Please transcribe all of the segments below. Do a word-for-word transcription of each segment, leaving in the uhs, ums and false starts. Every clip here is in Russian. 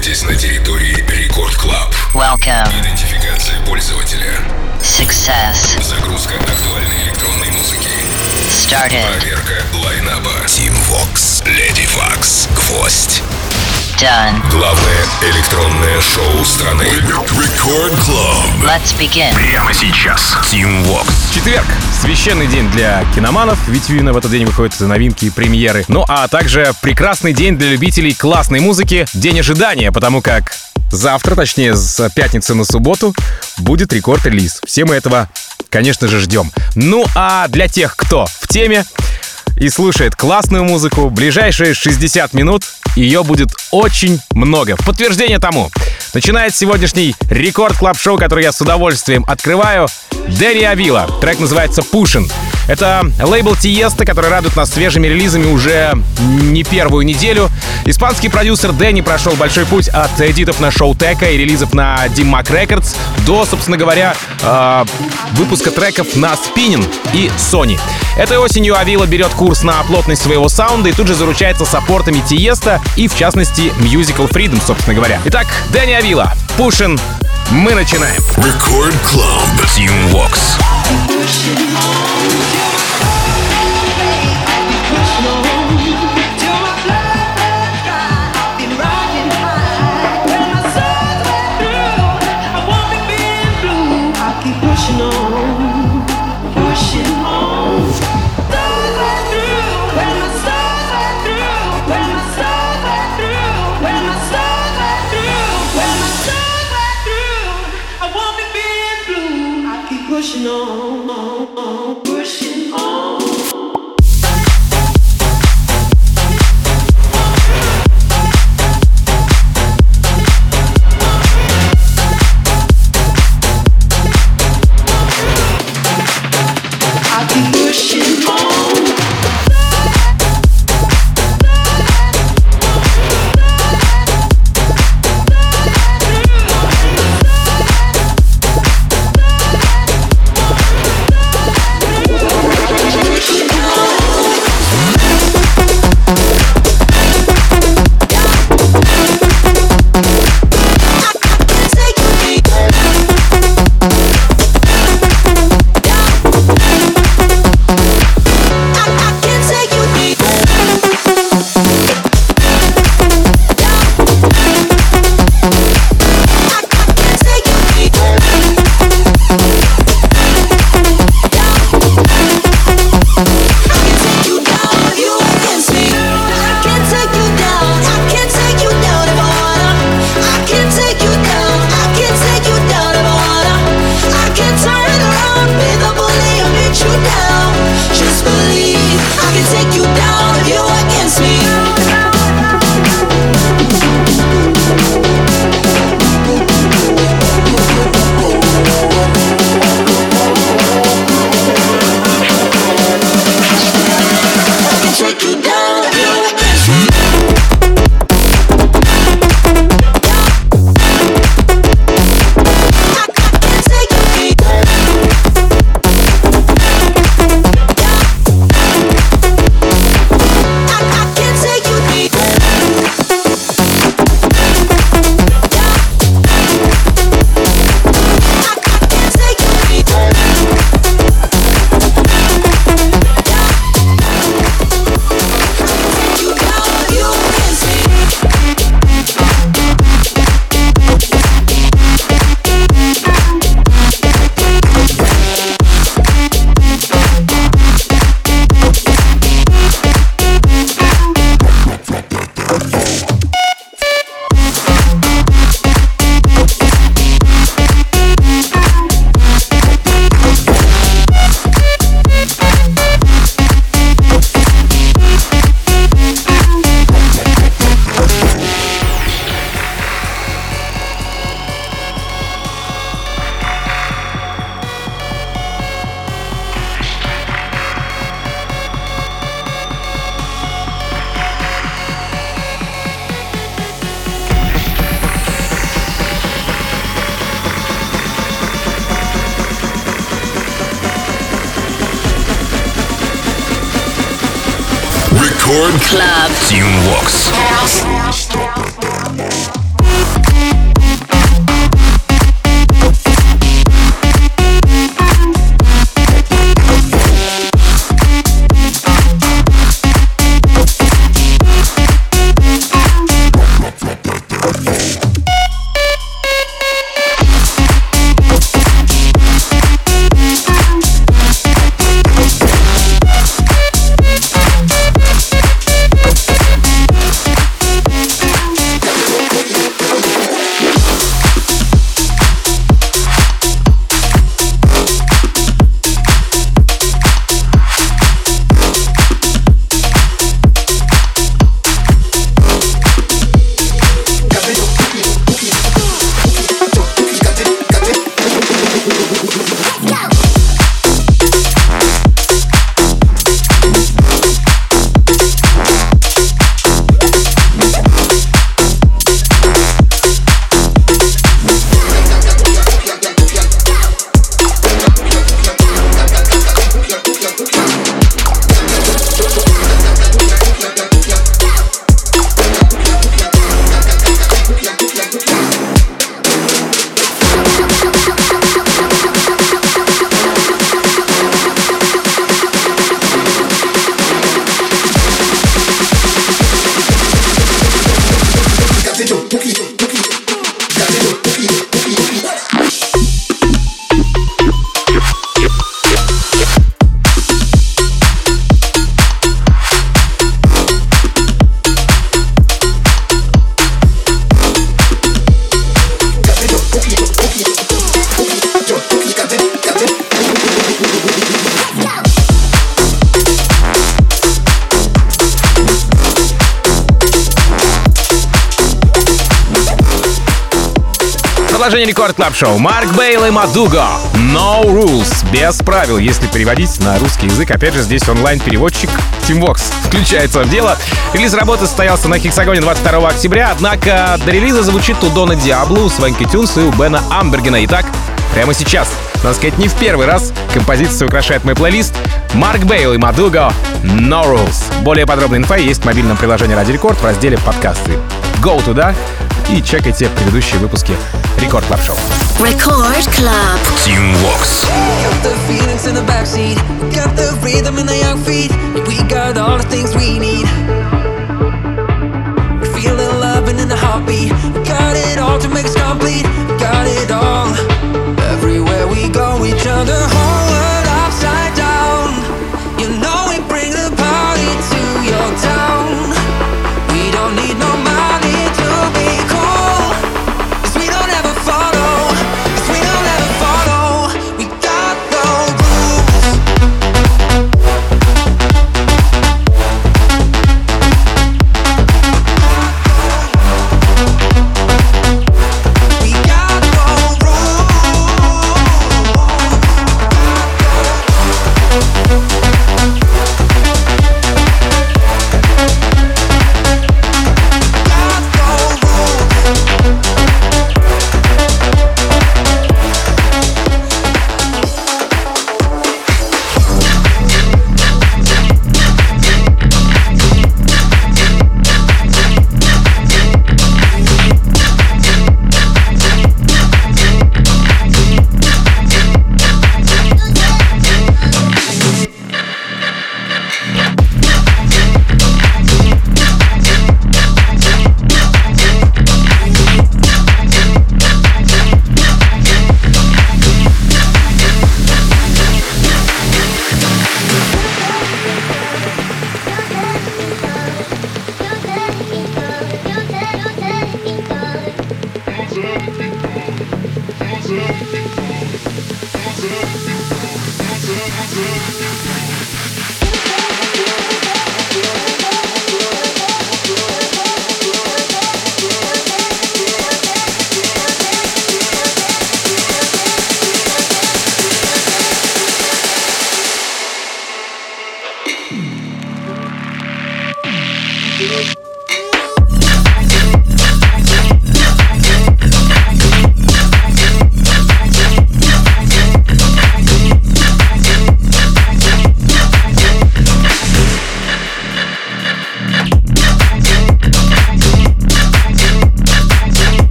находитесь на территории Рекорд Клаб. Welcome. Идентификация пользователя. Success. Загрузка актуальной электронной музыки. Started. Проверка лайнаба. Team Vox, Lady Vox, Гвоздь. Done. Главное электронное шоу страны. Рекорд Club. Let's begin. Прямо сейчас. Team Vox. Четверг. Священный день для киноманов, ведь именно в этот день выходят новинки и премьеры. Ну а также прекрасный день для любителей классной музыки. День ожидания, потому как завтра, точнее с пятницы на субботу, будет рекорд-релиз. Все мы этого, конечно же, ждем. Ну а для тех, кто в теме и слушает классную музыку, ближайшие шестьдесят минут ее будет очень много. В подтверждение тому начинает сегодняшний Рекорд Клаб Шоу, который я с удовольствием открываю, Дэнни Авила. Трек называется «Pushin'». Это лейбл Тиеста, который радует нас свежими релизами уже не первую неделю. Испанский продюсер Дэнни прошел большой путь от эдитов на шоу Тека и релизов на Dim-Mak Records до, собственно говоря, э, выпуска треков на Spinnin и Sony. Этой осенью Авила берет курс на плотность своего саунда и тут же заручается саппортами Тиеста и, в частности, Musical Freedom, собственно говоря. Итак, Дэнни Авила, «Pushin'». Мы начинаем. Record Club. Team Vox. Pushing on, pushing on. I keep pushing on. Рекорд Club. Team Vox. Продолжение Рекорд Клаб Шоу. Марк Бейл и Мадуго. No Rules. Без правил, если переводить на русский язык. Опять же, здесь онлайн-переводчик Teamvox включается в дело. Релиз работы состоялся на Хексагоне двадцать второго октября, однако до релиза звучит у Дона Диабло, у Свенки Тюнс и у Бена Амбергена. Итак, прямо сейчас, надо сказать, не в первый раз композиция украшает мой плейлист. Марк Бейл и Мадуго. No Rules. Более подробная инфа есть в мобильном приложении Радио Рекорд в разделе подкасты. Go туда и чекайте предыдущие выпуски Рекорд Клаб Шоу. Record Club. Teamvox. Got the feelings in the backseat, got the rhythm in the young feet. We got all the things we need. We feel the love and in the heartbeat. We got it all to make us complete. We got it all. Everywhere we go, each other whole world upside down. You know we bring the party to your town. We don't need no money to be cool. 'Cause we don't ever follow. 'Cause we don't ever follow. We got no rules. We got no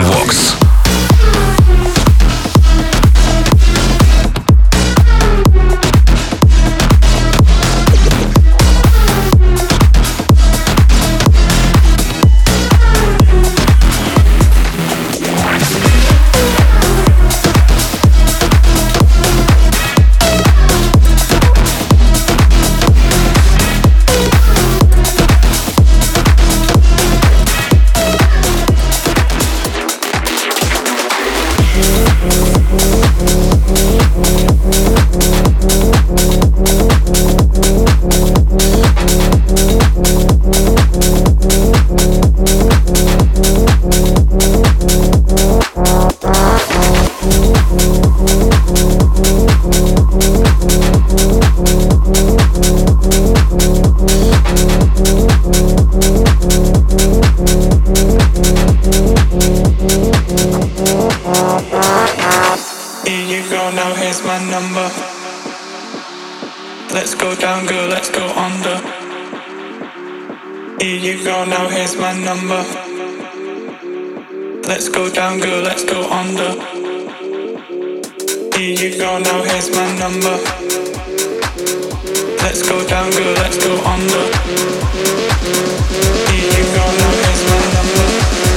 Team Vox. Let's go down, girl, let's go under. Here you go, now here's my number. Let's go down, girl, let's go under. Here you go, now here's my number. Let's go down, girl, let's go under. Here you go, now here's my number.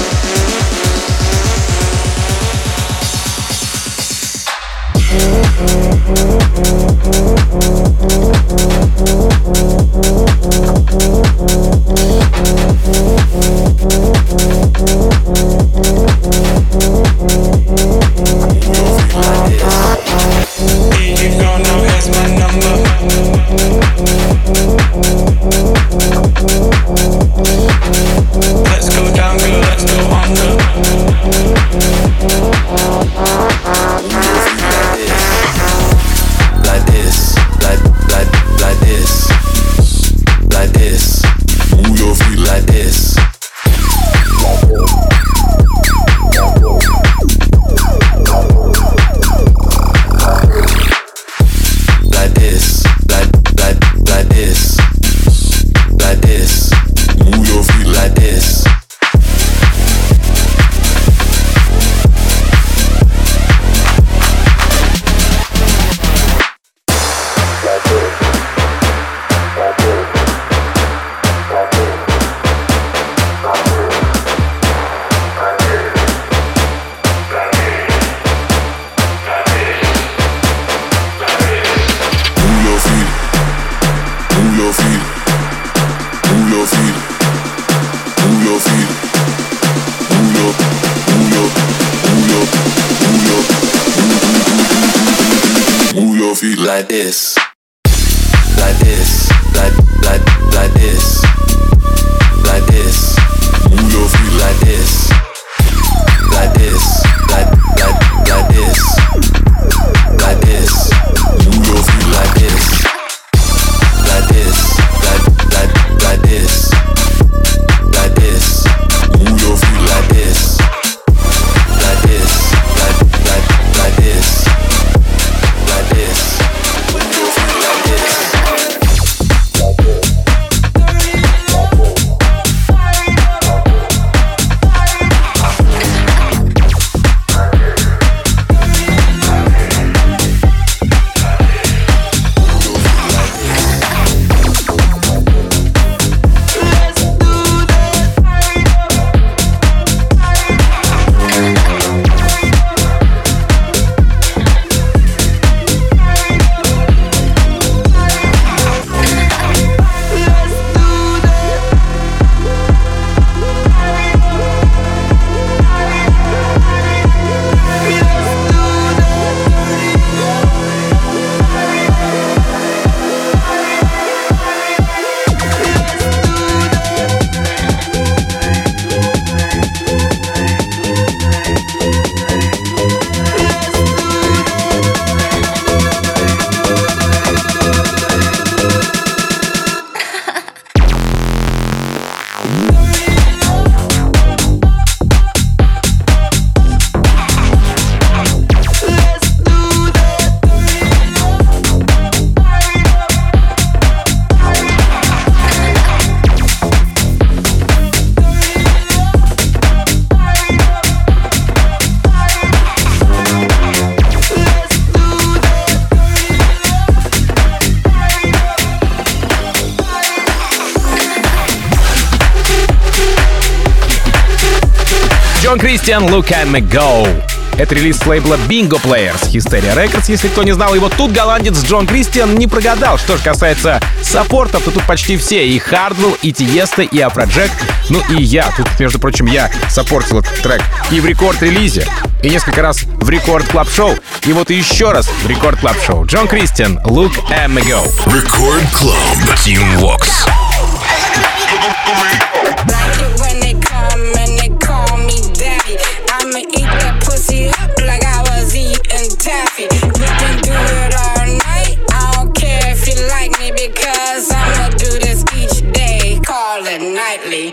Like this, like this, like like like this, like this. Move your feet like this, like this, like like like this, like this. Move your feet like this, like this, like like like this, like this. Move your feet like this, like this, like like like this, like this. Джон Кристиан, Look at Me Go. Это релиз с лейбла Bingo Players, Hysteria Records, если кто не знал. И вот тут голландец Джон Кристиан не прогадал. Что же касается саппортов, то тут почти все. И Hardwell, и Tiesto, и Afrojack. Ну и я. Тут, между прочим, я саппортил этот трек и в рекорд-релизе, и несколько раз в рекорд-клаб-шоу. И вот еще раз в рекорд-клаб-шоу. Джон Кристиан, Look at Me Go. Record Club. Team Vox. Like it when they come and they call me daddy. I'ma eat that pussy up like I was eating taffy. We can do it all night. I don't care if you like me because I'ma do this each day. Call it nightly.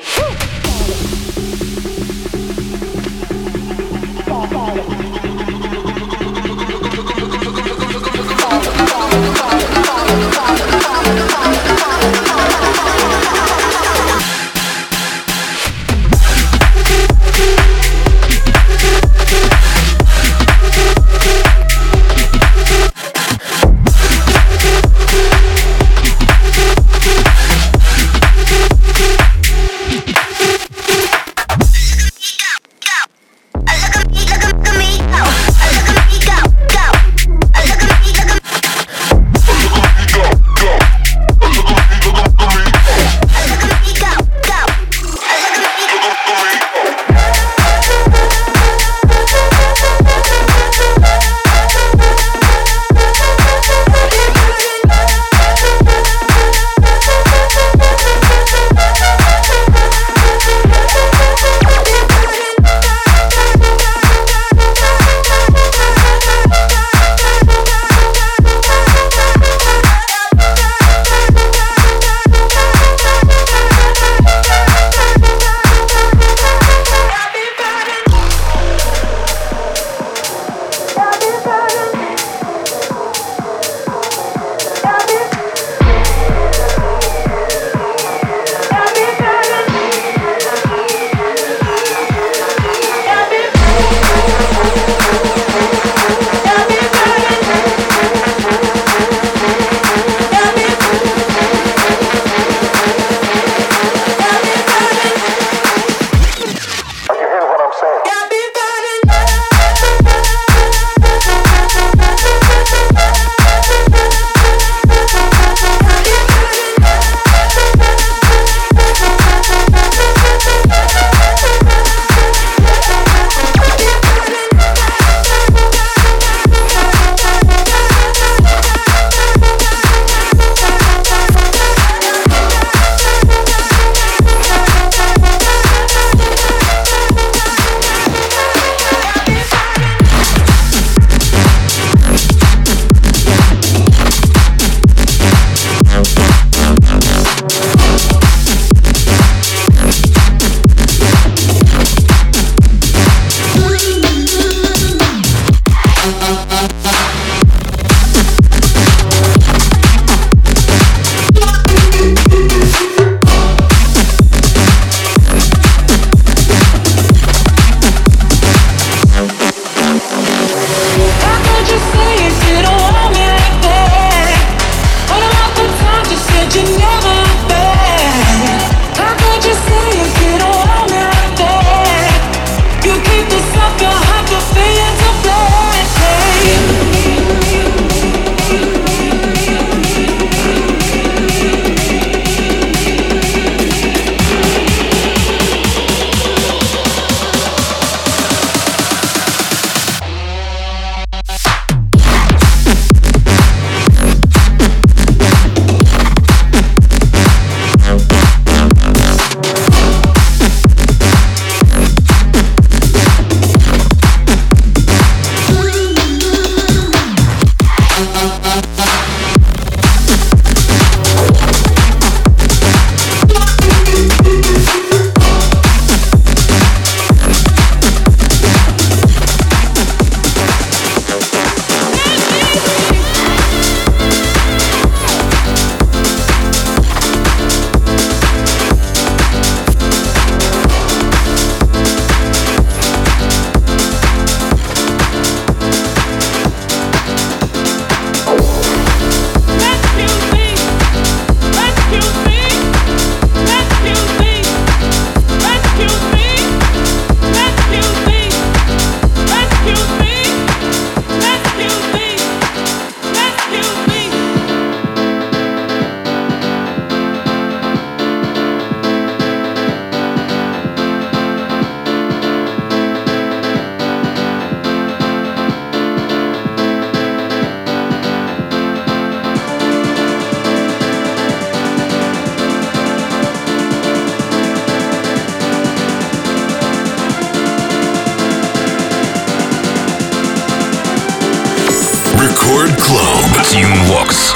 Record Club. Team Vox.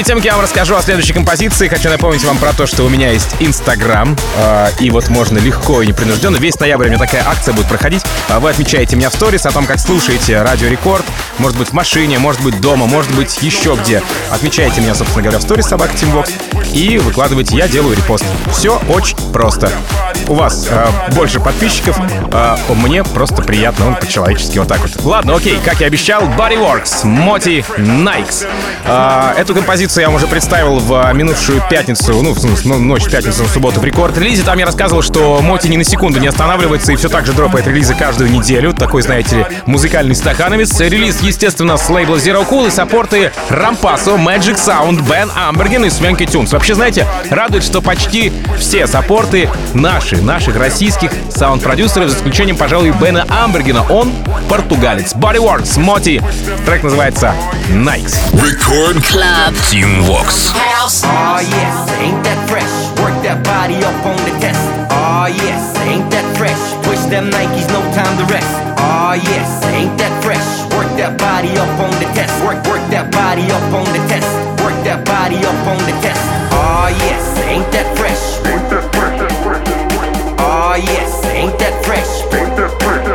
перед тем, как я вам расскажу о следующей композиции, хочу напомнить вам про то, что у меня есть Инстаграм, э, и вот можно легко и непринужденно. Весь ноябрь у меня такая акция будет проходить. Вы отмечаете меня в сторис о том, как слушаете Радио Рекорд. Может быть, в машине, может быть, дома, может быть, еще где. Отмечаете меня, собственно говоря, в сторис собака Тимвокс и выкладываете, я делаю репост. Все очень просто. У вас э, больше подписчиков, э, мне просто приятно, он по-человечески вот так вот. Ладно, окей, как я обещал, Bodyworks, Моти Найкс. Э, эту композицию я вам уже представил в минувшую пятницу, ну, в ночь пятницы на субботу в рекорд-релизе. Там я рассказывал, что Моти ни на секунду не останавливается и все так же дропает релизы каждую неделю. Такой, знаете ли, музыкальный стахановец. Релиз, естественно, с лейбла Zero Cool и саппорты Рампасо, Magic Sound, Бен Амберген и Свенки Тюнс. Вообще, знаете, радует, что почти все саппорты наши, наших российских саунд-продюсеров, за исключением, пожалуй, Бена Амбергена. Он португалец. Bodyworks, Моти. Трек называется Nikes. Record Club Teamworks. Oh yes, ain't that fresh? Work that body up on the test. Oh yes, ain't that fresh? Push them Nikes, no time to rest. Oh yes, ain't that fresh? Work that body up on the test. Work, work that body up on the test. Work that body up on the test. Oh yes, ain't that fresh? Ain't that fresh? Oh yes, ain't that fresh? Ain't that fresh?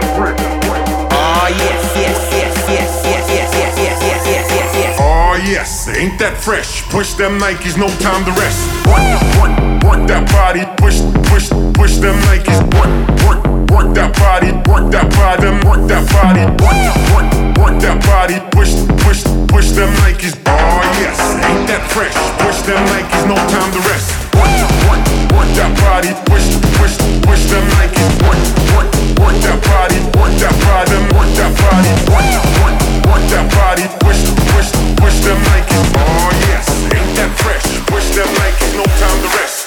Oh yes, yes, yes, yes, yes, yes, yes, yes, yes, yes, yes, yes. Oh yes, ain't that fresh? Push them Nikes, no time to rest. Work, work, work that body, push, push, push them Nikes. Work, work, work that body, work that body, them work that body. Work, work, work that body, push, push, push them Nikes. Oh yes, ain't that fresh? Push them Nikes, no time to rest. Work, work, work that body, push, push, push them Nikes. Work, work, work that body, work that body, them work that body. Work, work, work that body, push, push, push them Nikes. Oh yes, ain't that fresh? Push them Nikes, no time to rest.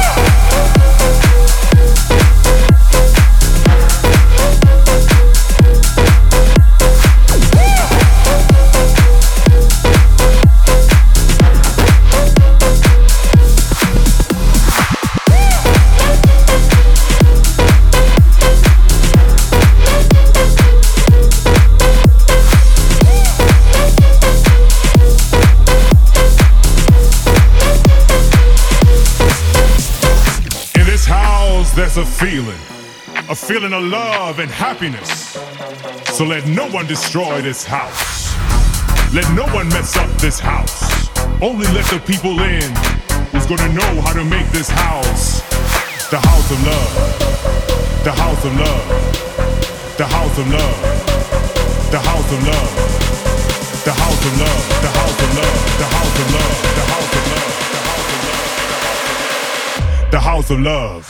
There's a feeling, a feeling of love and happiness. So let no one destroy this house. Let no one mess up this house. Only let the people in who's gonna know how to make this house the house of love. The house of love. The house of love. The house of love. The house of love. The house of love. The house of love. The house of love. The house of love. The house of love.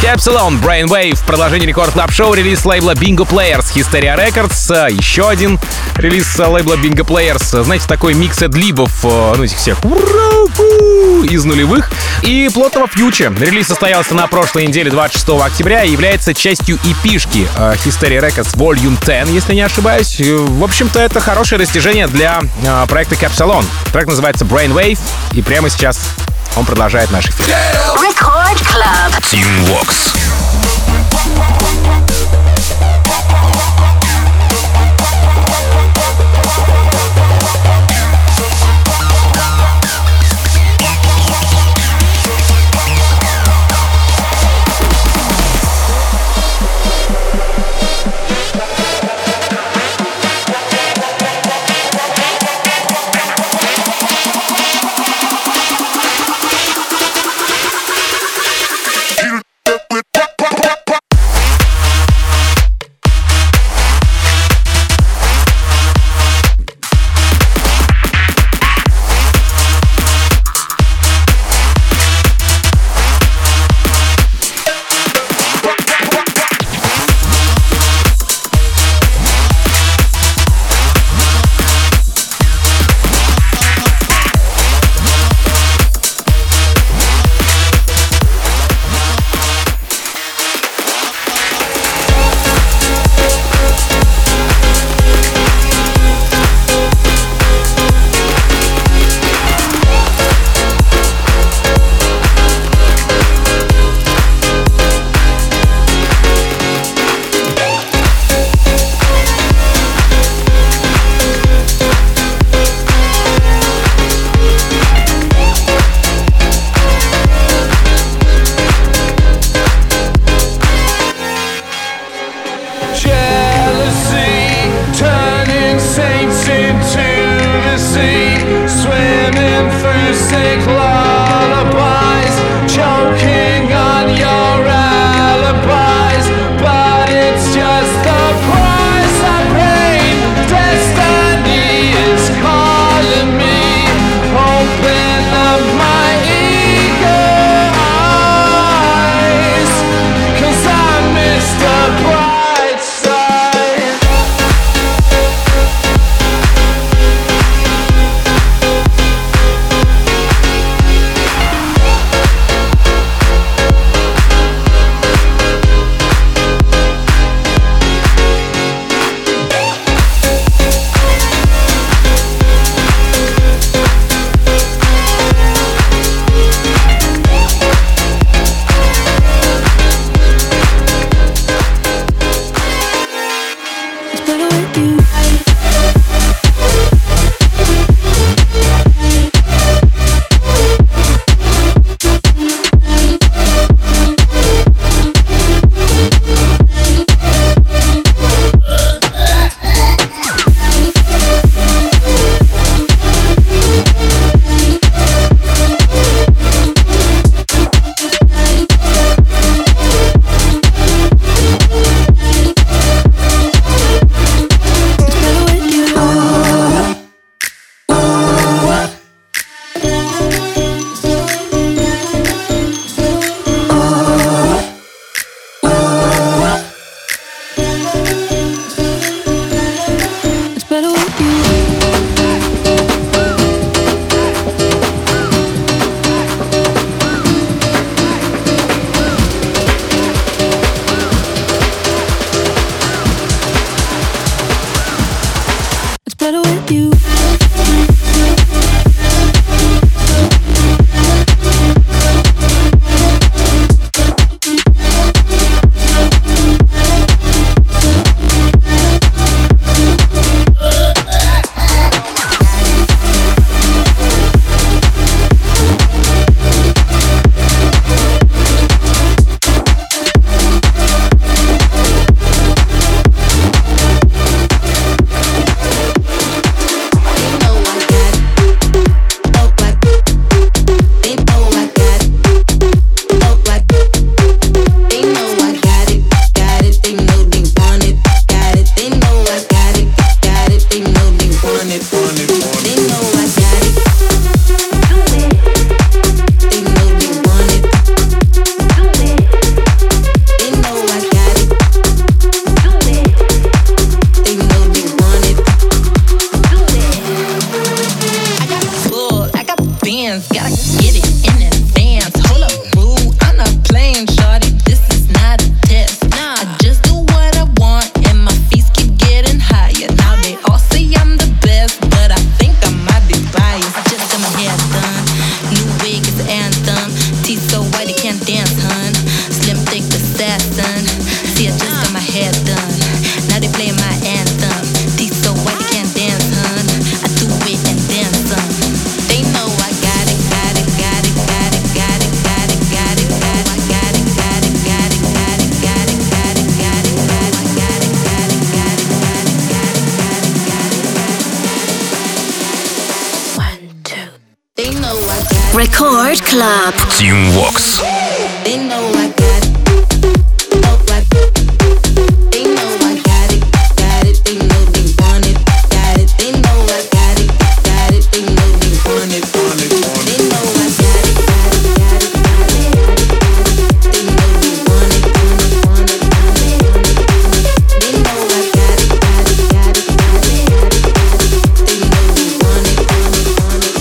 Capsalon, Brainwave, продолжение Рекорд Клаб Шоу, релиз лейбла Bingo Players, Hysteria Records, еще один релиз лейбла Bingo Players, знаете, такой микс эдлибов, ну, этих всех из нулевых, и плотного фьюча. Релиз состоялся на прошлой неделе, двадцать шестого октября, и является частью и пи-шки Hysteria Records Volume десять, если не ошибаюсь. В общем-то, это хорошее достижение для проекта Capsalon. Трек называется Brainwave, и прямо сейчас он продолжает наш эфир. Record Club. Team Vox. Record Club. Team Vox. They know I got it. Oh, like, they know I got it. Got it. They know they want it. Got it. They know I got it. Got it. They know they want it. Want it. Want it. They know I got it. Got it. Got it. Got it. They know they want it. Want it. Want it. Want it. They know I got it. Got it. Got it. Got it. They know they want it. Want it. Want it.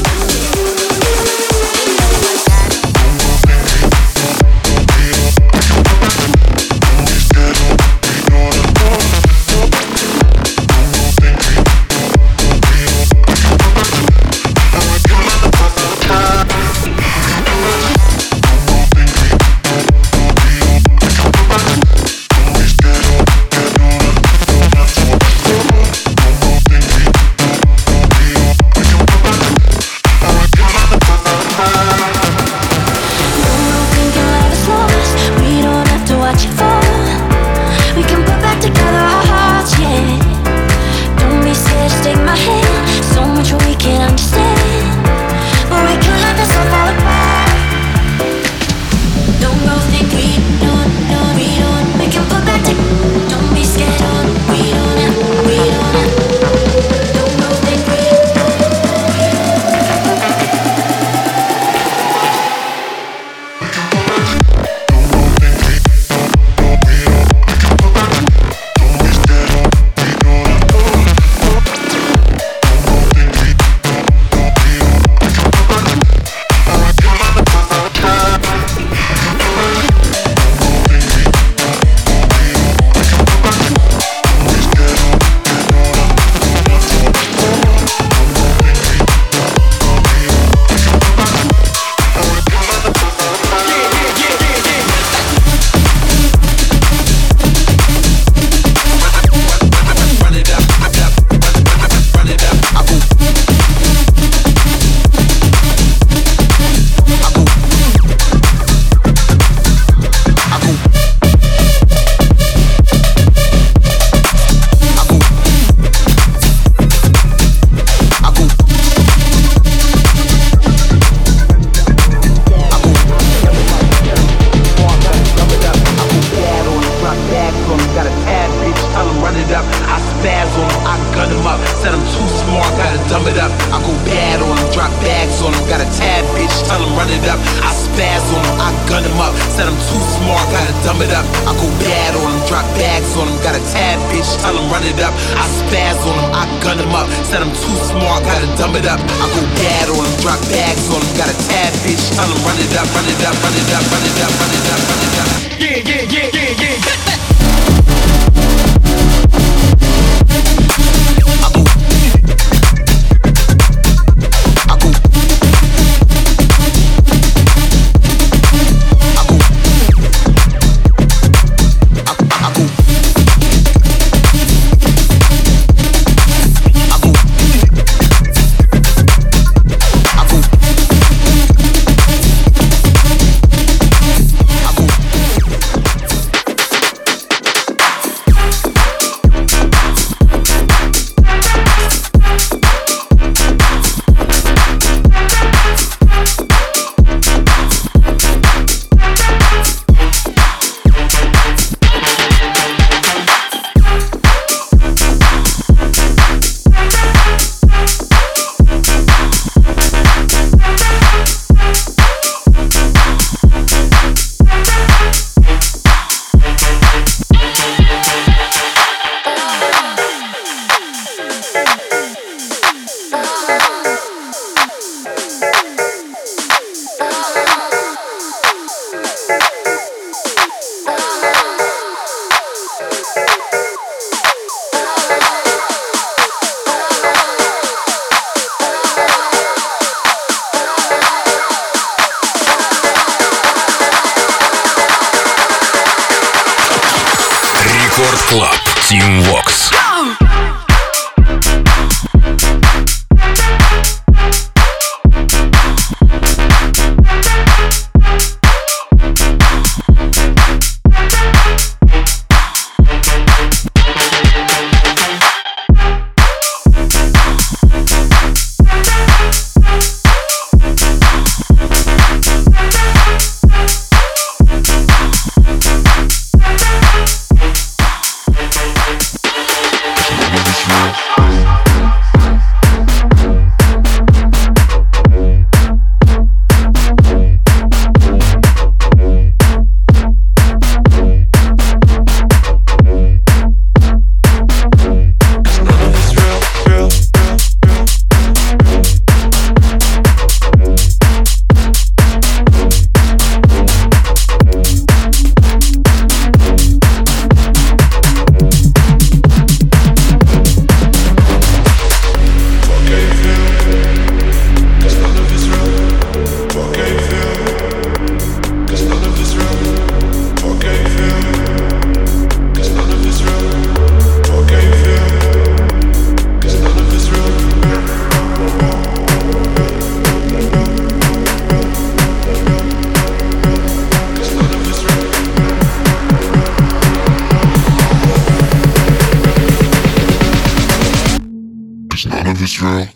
none of it's real.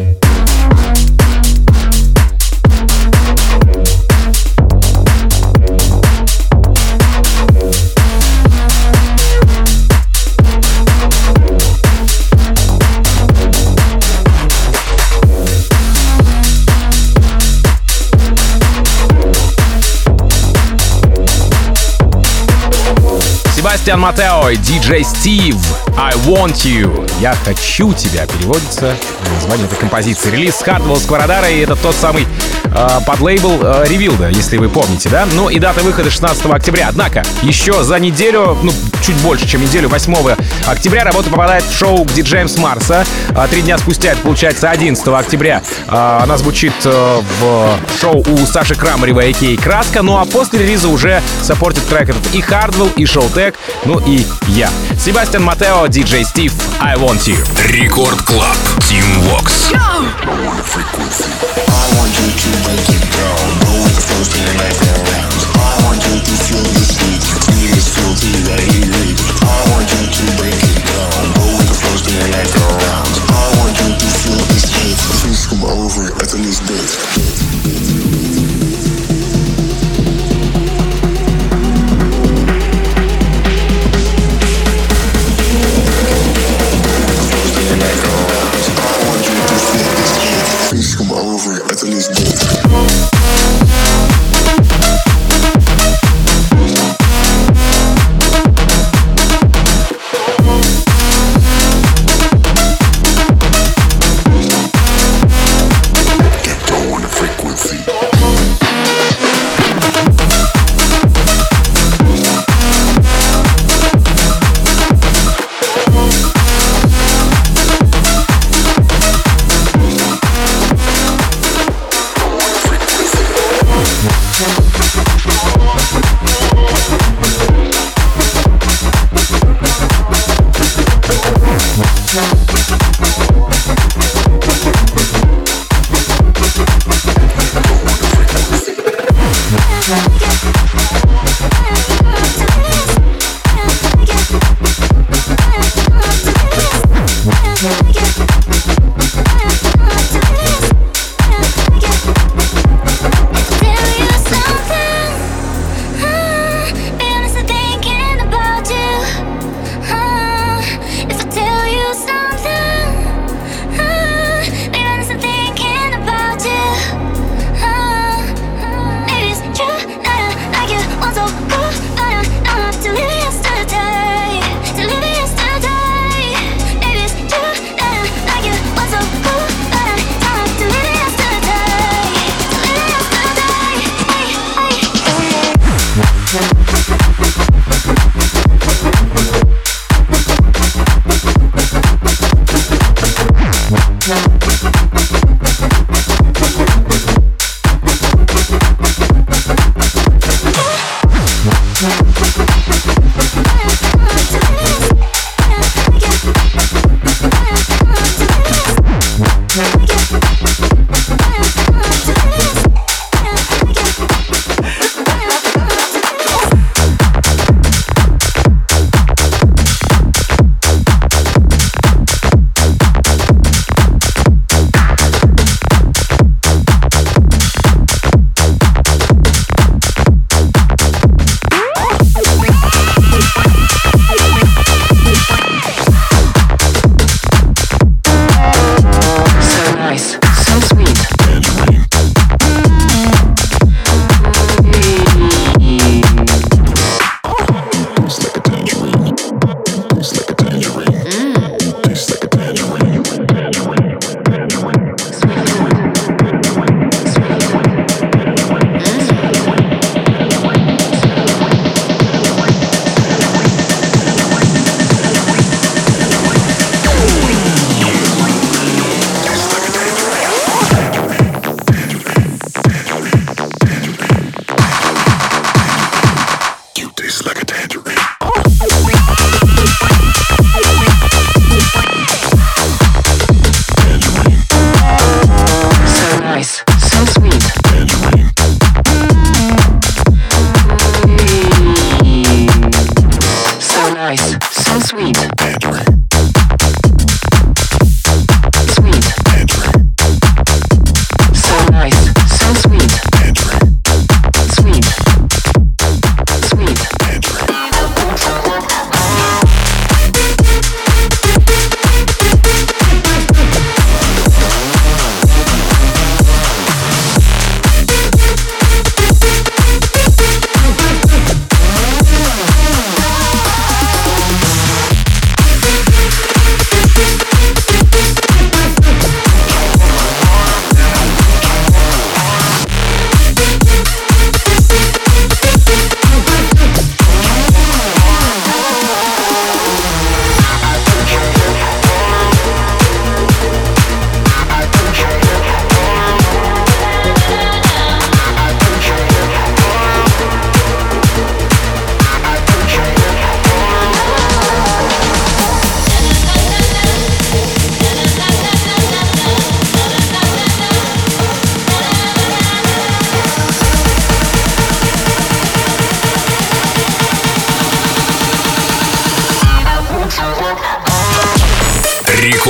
Себастьян Матео и диджей Стив «I Want You». «Я хочу тебя» переводится название этой композиции. Релиз Hardwell Сквородара, и это тот самый э, подлейбл э, Ревилда, если вы помните, да? Ну и дата выхода шестнадцатого октября. Однако, еще за неделю, ну, чуть больше, чем неделю, восьмого октября работа попадает в шоу к диджеям с Марса. А три дня спустя, это получается одиннадцатого октября, э, она звучит э, в шоу у Саши Крамарева, а.к.а. «Краска». Ну а после релиза уже саппортит трек этот и Hardwell, и Showtek, ну и я. Себастьян Матео, диджей Стив, «I Want You». Рекорд Клаб, Team Vox.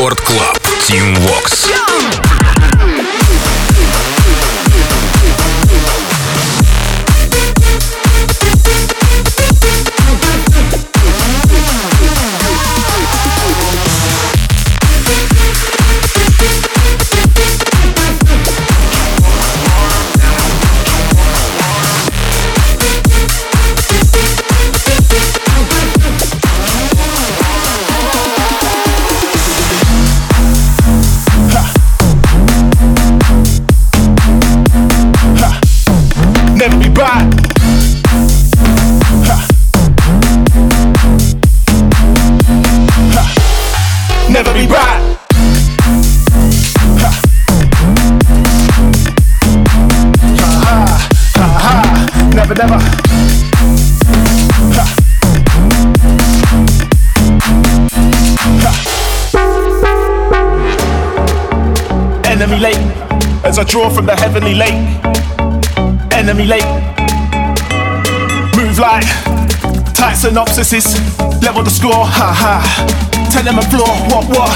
Рекорд Клаб. Team Vox. Never be right. Ha. Ha, ha, ha. Never, never. Ha. Ha. Enemy late as I draw from the heavenly lake. Enemy late. Move like tight synopsises. Level the score. Ha ha. Tell them a floor, what, what?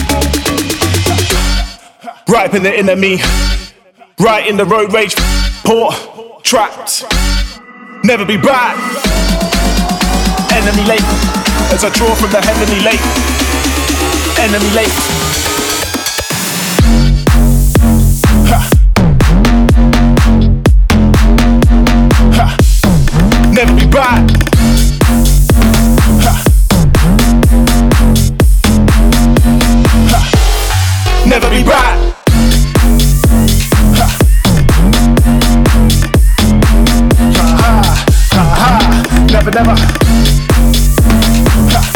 Right in the inner me, right in the road rage, poor, trapped, never be back. Enemy late, as I draw from the heavenly lake. Enemy late. Ha. Ha. Never be back. Ha. Never be right. Ha. Ha, ha, ha. Never, never. Ha.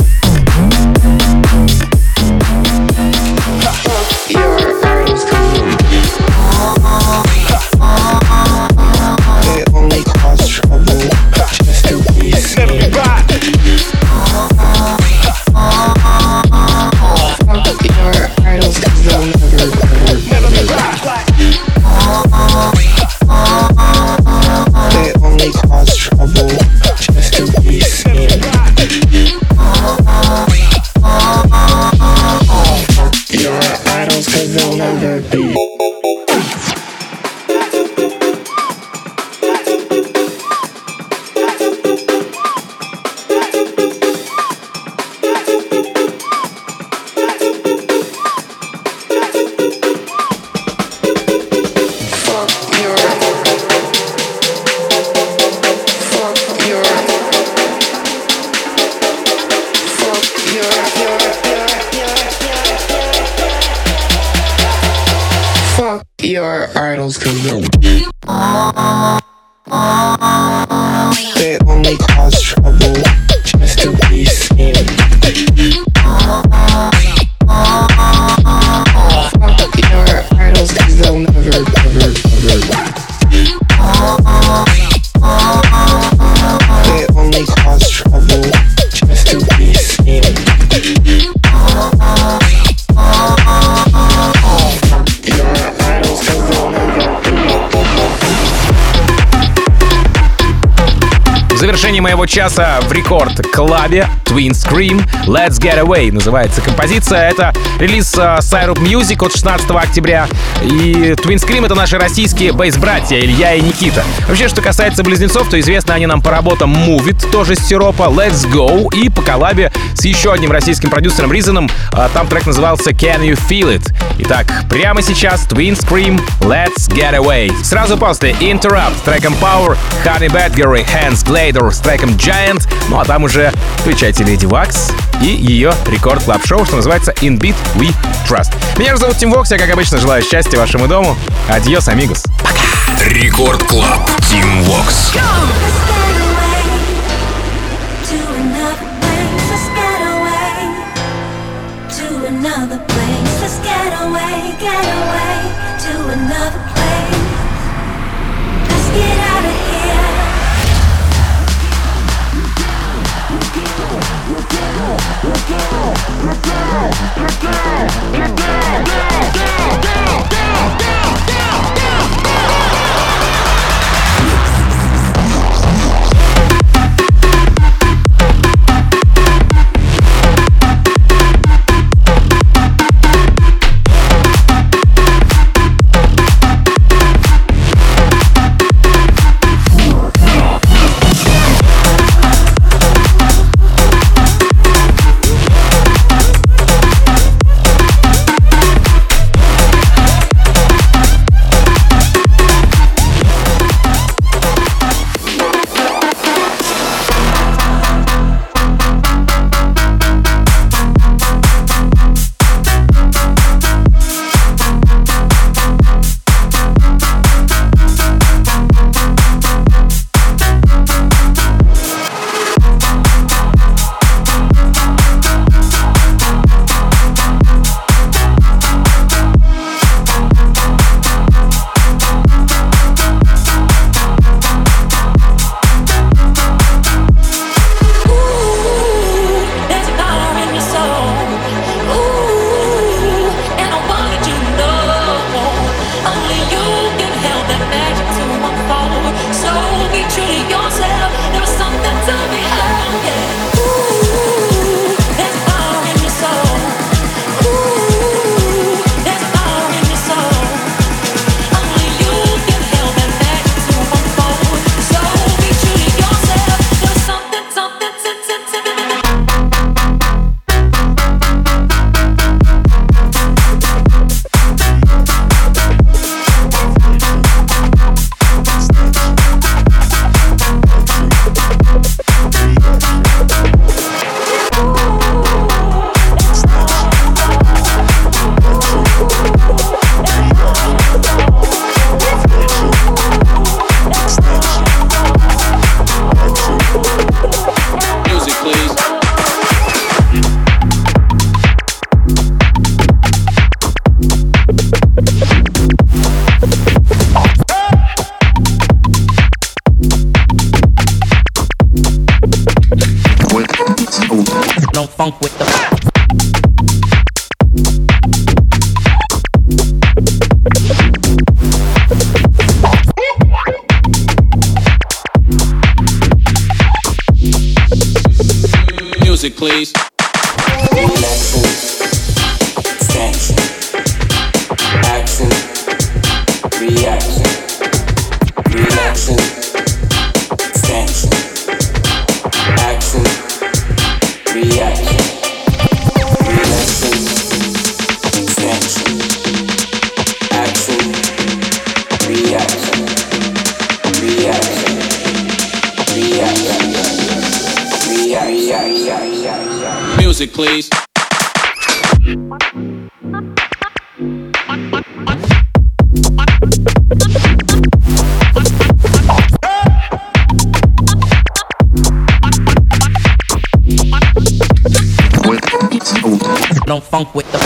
Ha. Your arms come. They only cause trouble. Just to be seen. Never be right. Fuck your idols, cause they'll never, never, never be right. They only cause trouble just to be seen. Fuck your idols, cause they'll never be. Your idols, cause they they only cause trouble just to be seen. Fuck your idols, cause they'll never, never, never. They only cause trouble just to be seen. В завершении моего часа в рекорд-клабе Twin Scream Let's Get Away называется композиция. Это релиз uh, Syrup Music от шестнадцатого октября. И Twin Scream — это наши российские бейс-братья Илья и Никита. Вообще, что касается близнецов, то известны они нам по работам Move It, тоже с сиропа, Let's Go, и по коллабе с еще одним российским продюсером Ризаном. Uh, там трек назывался Can You Feel It. Итак, прямо сейчас Twin Scream Let's Get Away. Сразу после Interrupt с треком Power, Honey Badger, Hans Glader с треком Giant. Ну а там уже включайте Леди Вакс и ее рекорд-клаб-шоу, что называется In Beat We Trust. Меня же зовут Тим Вокс, я, как обычно, желаю счастья вашему дому. Адьос, амигос. Пока! Рекорд Клаб. Тим Вокс. Another place, let's get away, get away to another place. Let's get out of here. Down, down, down, down, down, down, down. funk with the. Music, please. Relaxing, extension, action, reaction, relaxing, extension, action, reaction, relaxing, extension, action, reaction, reaction, reaction. Music, please. Don't funk with the.